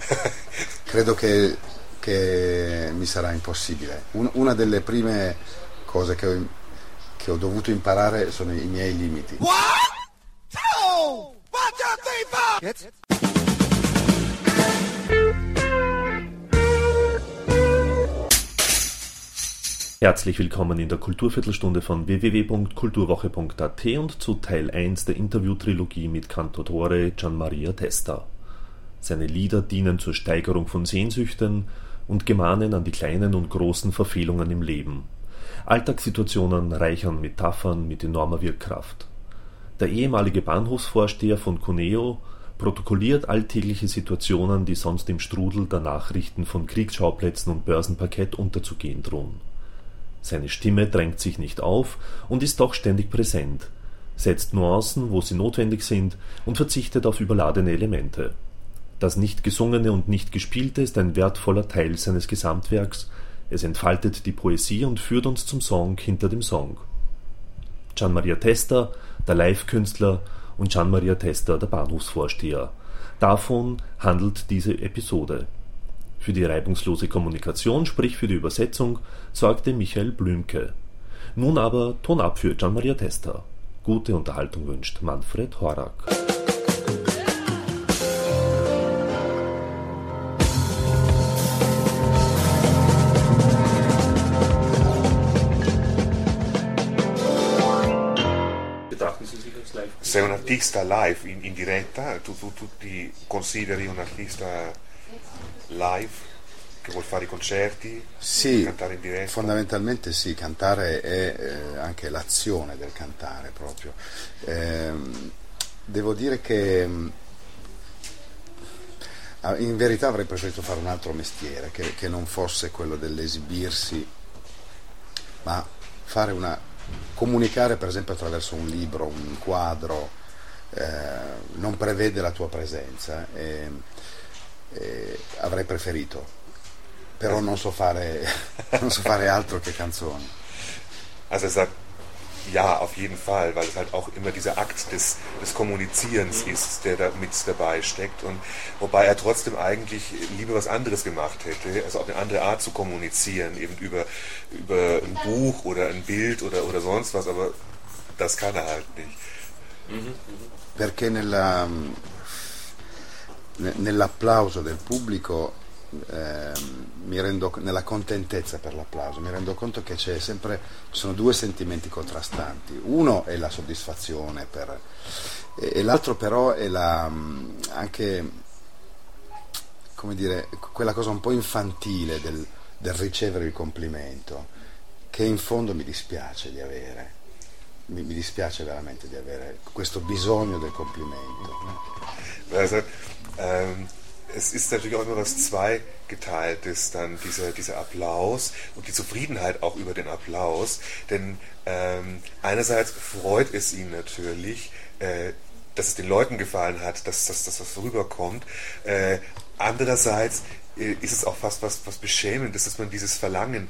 credo che mi sarà impossibile. Una delle prime cose che ho dovuto imparare sono i miei limiti. Herzlich willkommen in der Kulturviertelstunde von www.kulturwoche.at und zu Teil 1 der Interviewtrilogie mit Cantautore Gian Maria Testa. Seine Lieder dienen zur Steigerung von Sehnsüchten und gemahnen an die kleinen und großen Verfehlungen im Leben. Alltagssituationen reichern Metaphern mit enormer Wirkkraft. Der ehemalige Bahnhofsvorsteher von Cuneo protokolliert alltägliche Situationen, die sonst im Strudel der Nachrichten von Kriegsschauplätzen und Börsenparkett unterzugehen drohen. Seine Stimme drängt sich nicht auf und ist doch ständig präsent, setzt Nuancen, wo sie notwendig sind, und verzichtet auf überladene Elemente. Das nicht Gesungene und nicht Gespielte ist ein wertvoller Teil seines Gesamtwerks, es entfaltet die Poesie und führt uns zum Song hinter dem Song. Gian Maria Testa, der Live-Künstler, und Gian Maria Testa, der Bahnhofsvorsteher. Davon handelt diese Episode. Für die reibungslose Kommunikation, sprich für die Übersetzung, sorgte Michael Blümke. Nun aber Ton ab für Gian Maria Testa. Gute Unterhaltung wünscht Manfred Horak. Betrachten Sie sich als live? Sei un artista live in diretta, tu ti consideri un artista live che vuol fare i concerti, Sì, cantare in diretta? fondamentalmente sì, cantare è anche l'azione del cantare proprio. Devo dire che in verità avrei preferito fare un altro mestiere che non fosse quello dell'esibirsi, ma comunicare per esempio attraverso un libro, un quadro, non prevede la tua presenza. Avrei preferito, però non so fare altro che canzoni. Also er sagt, ja, auf jeden Fall, weil es halt auch immer dieser Akt des Kommunizierens ist, der da mit dabei steckt, und wobei er trotzdem eigentlich lieber was anderes gemacht hätte, also auf eine andere Art zu kommunizieren, eben über ein Buch oder ein Bild oder sonst was, aber das kann er halt nicht. Perché nell'applauso del pubblico, nella contentezza per l'applauso, mi rendo conto che ci sono due sentimenti contrastanti. Uno è la soddisfazione e l'altro però è anche, come dire, quella cosa un po' infantile del ricevere il complimento, che in fondo mi dispiace di avere. Mi dispiace veramente di avere questo bisogno del complimento. Also, es ist natürlich auch immer was Zweigeteiltes, dann dieser Applaus und die Zufriedenheit auch über den Applaus, denn einerseits freut es ihn natürlich, dass es den Leuten gefallen hat, dass das rüberkommt, andererseits ist es auch fast was Beschämendes, dass man dieses Verlangen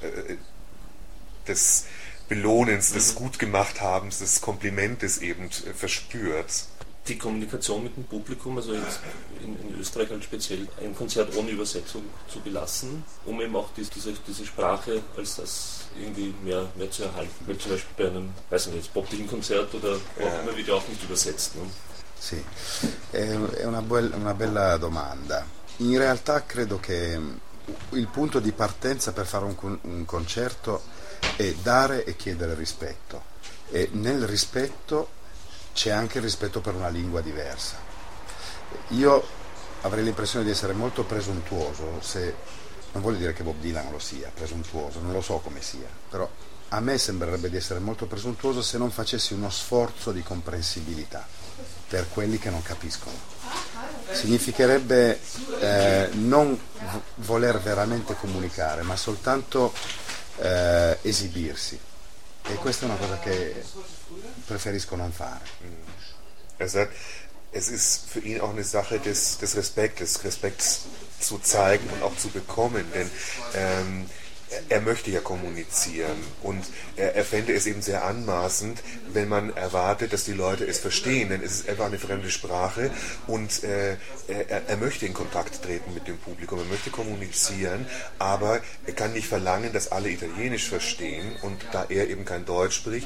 des Belohnens, des Gutgemachthabens, des Komplimentes eben verspürt. Die Kommunikation mit dem Publikum, also in Österreich halt speziell, ein Konzert ohne Übersetzung zu belassen, um eben auch diese Sprache als das irgendwie mehr zu erhalten. Weil zum Beispiel bei einem, weiß nicht, jetzt poppigen Konzert oder wo auch immer, wird ja auch nicht übersetzt. Ne? Sì, è una bella domanda. In realtà credo che il punto di partenza per fare un concerto è dare e chiedere rispetto, e nel rispetto c'è anche il rispetto per una lingua diversa. Io avrei l'impressione di essere molto presuntuoso, non voglio dire che Bob Dylan lo sia, presuntuoso, non lo so come sia, però a me sembrerebbe di essere molto presuntuoso se non facessi uno sforzo di comprensibilità per quelli che non capiscono. Significherebbe non voler veramente comunicare, ma soltanto esibirsi, e questa è una cosa che preferisco non fare. Er sagt, es ist für ihn auch eine Sache des Respekts zu zeigen und auch zu bekommen, denn er möchte ja kommunizieren und er fände es eben sehr anmaßend, wenn man erwartet, dass die Leute es verstehen, denn es ist einfach eine fremde Sprache und er möchte in Kontakt treten mit dem Publikum, er möchte kommunizieren, aber er kann nicht verlangen, dass alle Italienisch verstehen und da er eben kein Deutsch spricht,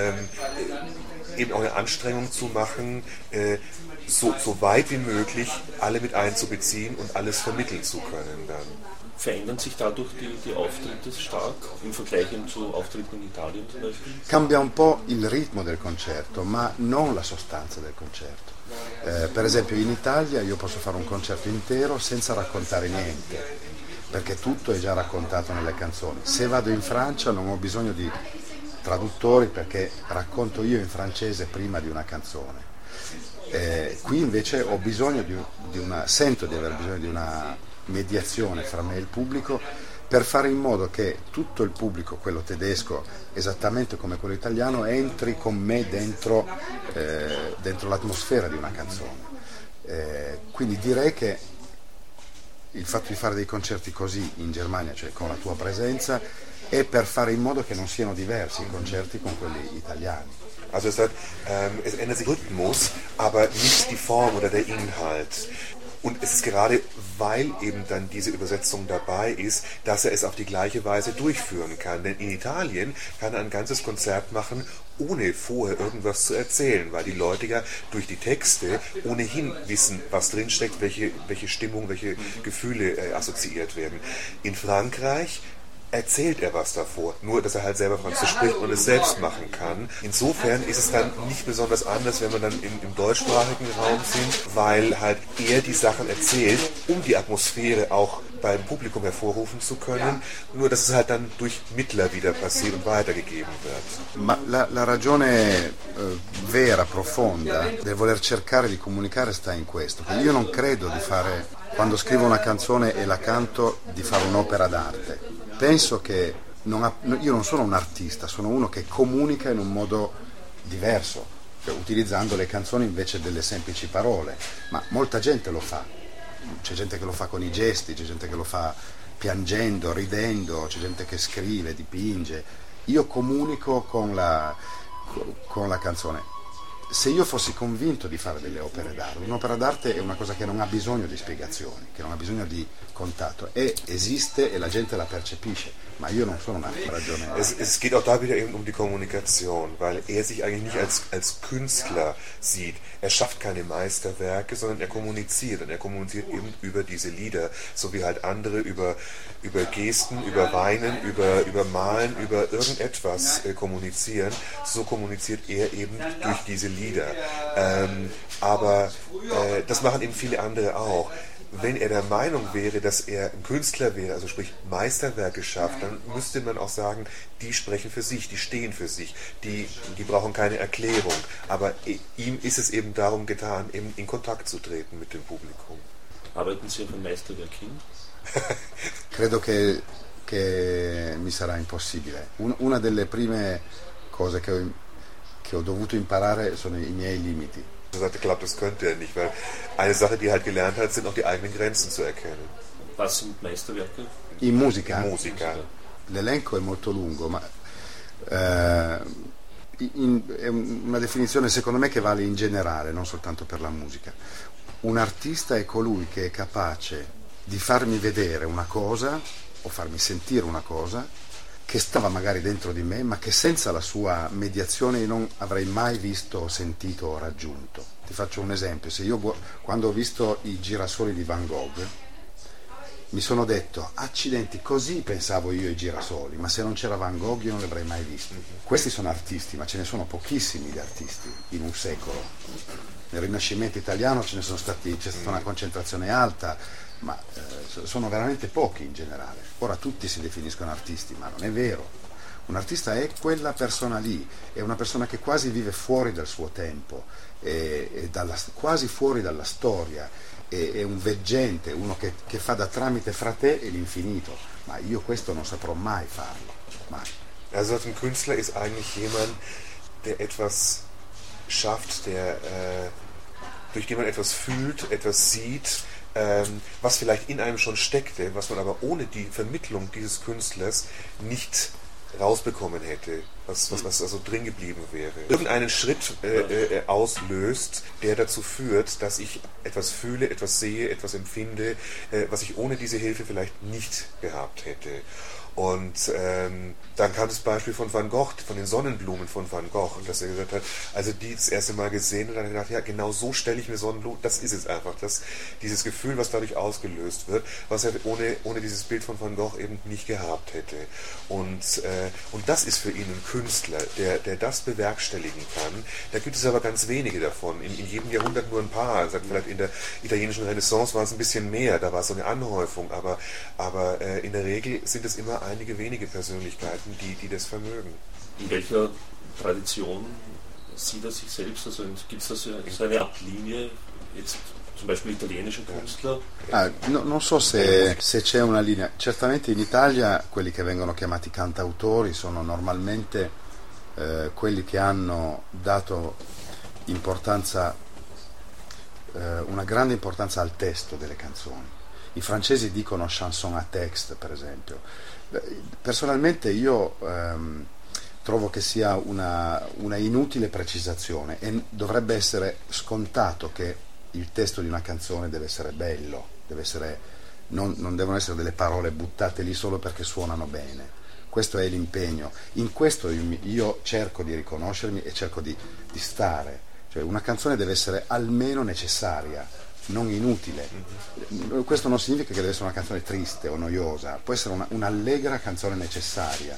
eben auch eine Anstrengung zu machen, so weit wie möglich alle mit einzubeziehen und alles vermitteln zu können dann. Verändern sich dadurch die Auftritte stark im Vergleich zu Auftritten in Italien zum Beispiel? Cambia un po' il ritmo del concerto, ma non la sostanza del concerto. Per esempio in Italia io posso fare un concerto intero senza raccontare niente, perché tutto è già raccontato nelle canzoni. Se vado in Francia non ho bisogno di traduttori perché racconto io in francese prima di una canzone. Qui invece ho bisogno sento di aver bisogno di una mediazione fra me e il pubblico per fare in modo che tutto il pubblico, quello tedesco esattamente come quello italiano, entri con me dentro l'atmosfera di una canzone. Quindi direi che il fatto di fare dei concerti così in Germania, cioè con la tua presenza, è per fare in modo che non siano diversi i concerti con quelli italiani. Also es ändert sich Rhythmus, aber nicht die Form oder der Inhalt. Und es ist gerade, weil eben dann diese Übersetzung dabei ist, dass er es auf die gleiche Weise durchführen kann. Denn in Italien kann er ein ganzes Konzert machen, ohne vorher irgendwas zu erzählen, weil die Leute ja durch die Texte ohnehin wissen, was drinsteckt, welche Stimmung, welche Gefühle assoziiert werden. In Frankreich erzählt er was davor, nur dass er halt selber Französisch spricht und es selbst machen kann. Insofern ist es dann nicht besonders anders, wenn wir dann im deutschsprachigen Raum sind, weil halt er die Sachen erzählt, um die Atmosphäre auch beim Publikum hervorrufen zu können, nur dass es halt dann durch Mittler wieder passiert und weitergegeben wird. Ma la ragione vera, profonda del voler cercare di comunicare sta in questo, che io non credo di fare, quando scrivo una canzone e la canto, di fare un'opera d'arte. Penso che io non sono un artista, sono uno che comunica in un modo diverso, cioè utilizzando le canzoni invece delle semplici parole, ma molta gente lo fa. C'è gente che lo fa con i gesti, c'è gente che lo fa piangendo, ridendo, c'è gente che scrive, dipinge. Io comunico con la canzone. Se io fossi convinto di fare delle opere d'arte, un'opera d'arte è una cosa che non ha bisogno di spiegazioni, che non ha bisogno di contatto, esiste e la gente la percepisce, ma io non sono una ragione. Es geht auch da wieder eben um die Kommunikation, weil er sich eigentlich nicht als Künstler sieht. Er schafft keine Meisterwerke, sondern er kommuniziert und er kommuniziert eben über diese Lieder, so wie halt andere über Gesten, über Weinen, über Malen, über irgendetwas kommunizieren. So kommuniziert er eben durch diese Lieder. Aber das machen eben viele andere auch. Wenn er der Meinung wäre, dass er ein Künstler wäre, also sprich Meisterwerke schafft, dann müsste man auch sagen, die sprechen für sich, die stehen für sich, die brauchen keine Erklärung. Aber ihm ist es eben darum getan, eben in Kontakt zu treten mit dem Publikum. Arbeiten Sie auf ein Meisterwerk hin? Credo che mi sarà impossibile. Una delle prime cose che ho dovuto imparare sono i miei limiti. Er sagte, klappt, das könnte er nicht, weil eine Sache, die er halt gelernt hat, sind auch die eigenen Grenzen zu erkennen. Was sind Meisterwerke? In musica? Musica. L'elenco è molto lungo, ma è una definizione secondo me che vale in generale, non soltanto per la musica. Un artista è colui che è capace di farmi vedere una cosa o farmi sentire una cosa che stava magari dentro di me, ma che senza la sua mediazione io non avrei mai visto, sentito o raggiunto. Ti faccio un esempio: se io quando ho visto i girasoli di Van Gogh mi sono detto, accidenti, così pensavo io ai girasoli, ma se non c'era Van Gogh io non li avrei mai visti. Questi sono artisti, ma ce ne sono pochissimi di artisti in un secolo. Nel Rinascimento italiano c'è stata una concentrazione alta, ma sono veramente pochi in generale. Ora tutti si definiscono artisti, ma non è vero. Un artista è quella persona lì, è una persona che quasi vive fuori dal suo tempo, quasi fuori dalla storia, è un veggente, uno che fa da tramite fra te e l'infinito, ma io questo non saprò mai farlo, mai. Also ein Künstler ist eigentlich jemand, der etwas schafft, durch den man etwas fühlt, etwas sieht, was vielleicht in einem schon steckte, was man aber ohne die Vermittlung dieses Künstlers nicht rausbekommen hätte, was also drin geblieben wäre. Irgendeinen Schritt auslöst, der dazu führt, dass ich etwas fühle, etwas sehe, etwas empfinde, was ich ohne diese Hilfe vielleicht nicht gehabt hätte. Und dann kam das Beispiel von Van Gogh, von den Sonnenblumen von Van Gogh, und dass er gesagt hat, also die das erste Mal gesehen und dann hat er gedacht, ja, genau so stelle ich mir Sonnenblumen, das ist es einfach, dieses Gefühl, was dadurch ausgelöst wird, was er ohne dieses Bild von Van Gogh eben nicht gehabt hätte. Und das ist für ihn ein Künstler, der das bewerkstelligen kann. Da gibt es aber ganz wenige davon, in jedem Jahrhundert nur ein paar, also vielleicht in der italienischen Renaissance war es ein bisschen mehr, da war es so eine Anhäufung, aber in der Regel sind es immer einige wenige Persönlichkeiten, die das vermögen. In welcher Tradition sieht er sich selbst? Also gibt es da so eine Art Linie, jetzt zum Beispiel italienische Künstler? Non so se c'è una linea. Certamente in Italia quelli che vengono chiamati cantautori sono normalmente quelli che hanno dato importanza, una grande importanza al testo delle canzoni. I francesi dicono chanson à texte, per esempio. Personalmente io trovo che sia una inutile precisazione e dovrebbe essere scontato che il testo di una canzone deve essere bello, non devono essere delle parole buttate lì solo perché suonano bene. Questo è l'impegno. In questo io cerco di riconoscermi e cerco di stare. Cioè una canzone deve essere almeno necessaria, non inutile. Questo non significa che deve essere una canzone triste o noiosa, può essere un'allegra canzone necessaria.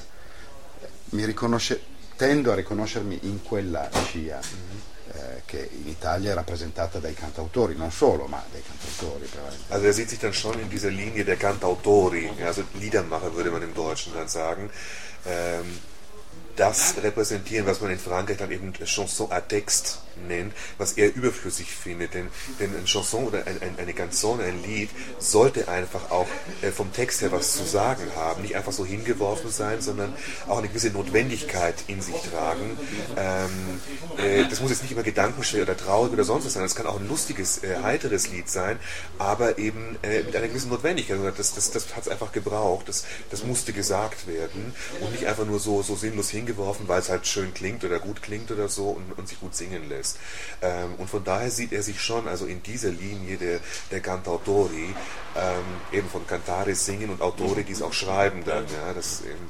Tendo a riconoscermi in quella scia che in Italia è rappresentata dai cantautori, non solo, ma dai cantautori. Also er sieht sich dann schon in dieser Linie der Cantautori, also Liedermacher würde man im Deutschen dann sagen. Das repräsentieren, was man in Frankreich dann eben Chanson à texte nennt, was er überflüssig findet, denn ein Chanson oder eine Canzone, ein Lied, sollte einfach auch vom Text her was zu sagen haben, nicht einfach so hingeworfen sein, sondern auch eine gewisse Notwendigkeit in sich tragen. Das muss jetzt nicht immer gedankenschwer oder traurig oder sonst was sein, das kann auch ein lustiges, heiteres Lied sein, aber eben mit einer gewissen Notwendigkeit. Das hat es einfach gebraucht, das musste gesagt werden und nicht einfach nur so sinnlos hingeworfen, weil es halt schön klingt oder gut klingt oder so und sich gut singen lässt. Und von daher sieht er sich schon also in dieser Linie der Cantautori, eben von Cantare singen und Autori, die es auch schreiben dann, ja, das eben,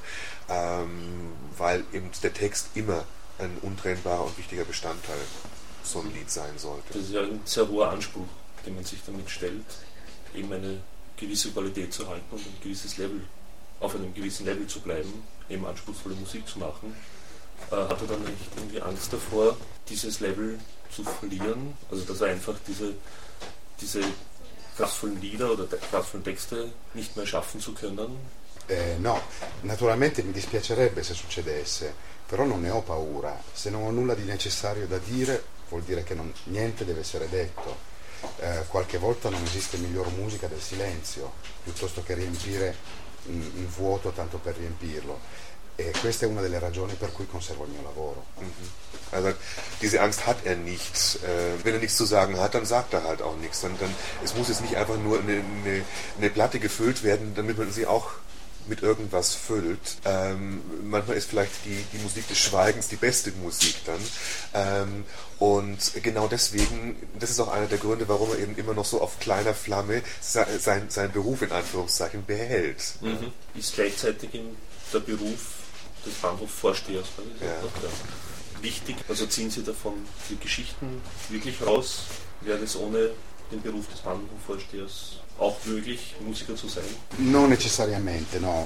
weil eben der Text immer ein untrennbarer und wichtiger Bestandteil so ein Lied sein sollte. Das ist ja ein sehr hoher Anspruch, den man sich damit stellt, eben eine gewisse Qualität zu halten und ein gewisses Level, auf einem gewissen Level zu bleiben, eben anspruchsvolle Musik zu machen. Hat er dann nicht irgendwie Angst davor, dieses Level zu verlieren? Also dass er einfach diese kraftvollen Lieder oder kraftvollen Texte nicht mehr schaffen zu können? No, naturalmente mi dispiacerebbe se succedesse, però non ne ho paura. Se non ho nulla di necessario da dire, vuol dire che niente deve essere detto. Qualche volta non esiste miglior musica del silenzio, piuttosto che riempire un vuoto tanto per riempirlo. E questa è una delle ragioni per cui conservo il mio lavoro. Also diese Angst hat er nicht. Wenn er nichts zu sagen hat, dann sagt er halt auch nichts. Es muss jetzt nicht einfach nur eine Platte gefüllt werden, damit man sie auch mit irgendwas füllt. Manchmal ist vielleicht die Musik des Schweigens die beste Musik dann. Und genau deswegen, das ist auch einer der Gründe, warum er eben immer noch so auf kleiner Flamme seinen Beruf in Anführungszeichen behält. Ist gleichzeitig der Beruf des Bahnhofvorstehers wichtig? Also ziehen Sie davon die Geschichten wirklich raus? Wäre das ohne den Beruf des Bahnhofvorstehers auch möglich, Musiker zu sein? Non necessariamente, no.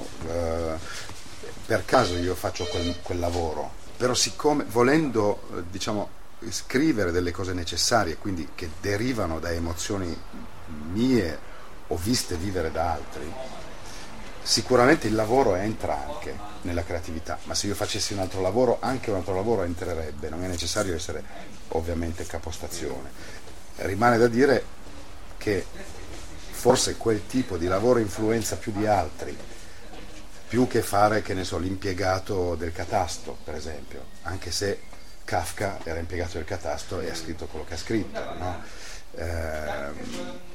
Per caso io faccio quel lavoro, però siccome volendo, diciamo, scrivere delle cose necessarie, quindi che derivano da emozioni mie o viste vivere da altri, sicuramente il lavoro entra anche nella creatività, ma se io facessi un altro lavoro, anche un altro lavoro entrerebbe, non è necessario essere ovviamente capostazione. Rimane da dire che forse quel tipo di lavoro influenza più di altri, più che fare, che ne so, l'impiegato del catasto, per esempio, anche se Kafka era impiegato del catasto e ha scritto quello che ha scritto, no?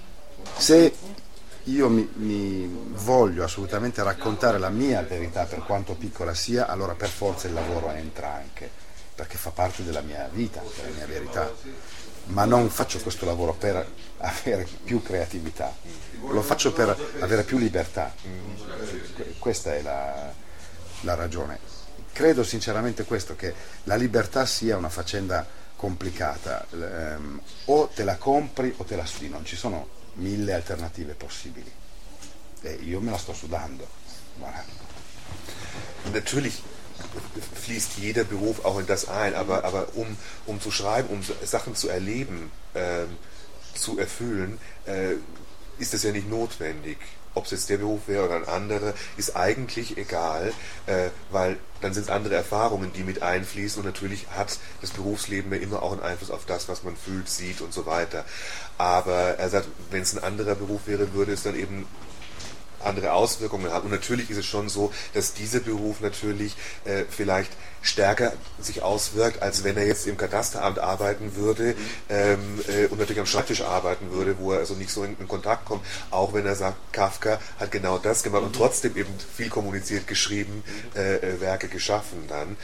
Se io mi voglio assolutamente raccontare la mia verità, per quanto piccola sia, allora per forza il lavoro entra anche, perché fa parte della mia vita, della mia verità. Ma non faccio questo lavoro per avere più creatività, lo faccio per avere più libertà. Questa è la ragione. Credo sinceramente questo, che la libertà sia una faccenda complicata, o te la compri o te la studi, non ci sono 1000 alternative possibili e io me la sto sudando. Voilà. Natürlich fließt jeder Beruf auch in das ein, aber um zu schreiben, um Sachen zu erleben, zu erfüllen, ist das ja nicht notwendig. Ob es jetzt der Beruf wäre oder ein anderer, ist eigentlich egal, weil dann sind es andere Erfahrungen, die mit einfließen, und natürlich hat das Berufsleben ja immer auch einen Einfluss auf das, was man fühlt, sieht und so weiter. Aber er sagt, wenn es ein anderer Beruf wäre, würde es dann eben andere Auswirkungen haben. Und natürlich ist es schon so, dass dieser Beruf natürlich vielleicht stärker sich auswirkt, als wenn er jetzt im Kadasteramt arbeiten würde und natürlich am Schreibtisch arbeiten würde, wo er also nicht so in Kontakt kommt, auch wenn er sagt, Kafka hat genau das gemacht und trotzdem eben viel kommuniziert, geschrieben, Werke geschaffen dann.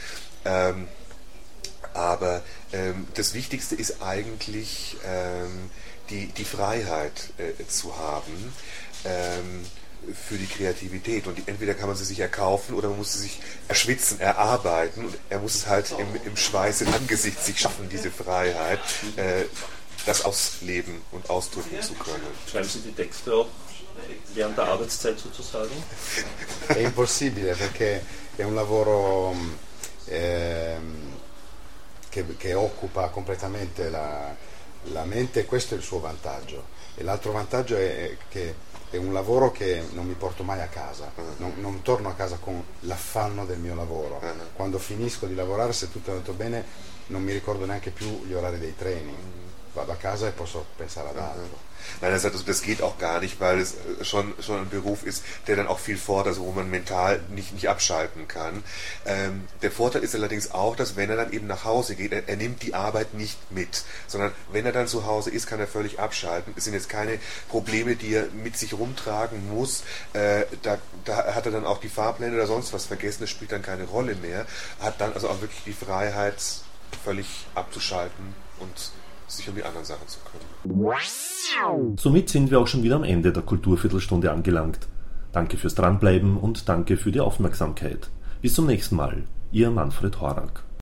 Aber das Wichtigste ist eigentlich die Freiheit zu haben, für die Kreativität, und entweder kann man sie sich erkaufen oder man muss sie sich erschwitzen, erarbeiten, und er muss es halt im Schweiß im Angesicht sich schaffen, diese Freiheit, das ausleben und ausdrücken zu können. Schreiben Sie die Texte auch während der Arbeitszeit sozusagen? È impossibile, perché è un lavoro che occupa completamente la mente, e questo è il suo vantaggio, e l'altro vantaggio è che è un lavoro che non mi porto mai a casa, non torno a casa con l'affanno del mio lavoro. Quando finisco di lavorare, se tutto è andato bene, non mi ricordo neanche più gli orari dei treni, vado a casa e posso pensare ad altro. Nein, er sagt, also das geht auch gar nicht, weil es schon ein Beruf ist, der dann auch viel fordert, also wo man mental nicht abschalten kann. Der Vorteil ist allerdings auch, dass wenn er dann eben nach Hause geht, er nimmt die Arbeit nicht mit, sondern wenn er dann zu Hause ist, kann er völlig abschalten. Es sind jetzt keine Probleme, die er mit sich rumtragen muss. Da hat er dann auch die Fahrpläne oder sonst was vergessen, das spielt dann keine Rolle mehr. Hat dann also auch wirklich die Freiheit, völlig abzuschalten und sich um die anderen Sachen zu kümmern. Somit sind wir auch schon wieder am Ende der Kulturviertelstunde angelangt. Danke fürs Dranbleiben und danke für die Aufmerksamkeit. Bis zum nächsten Mal. Ihr Manfred Horak.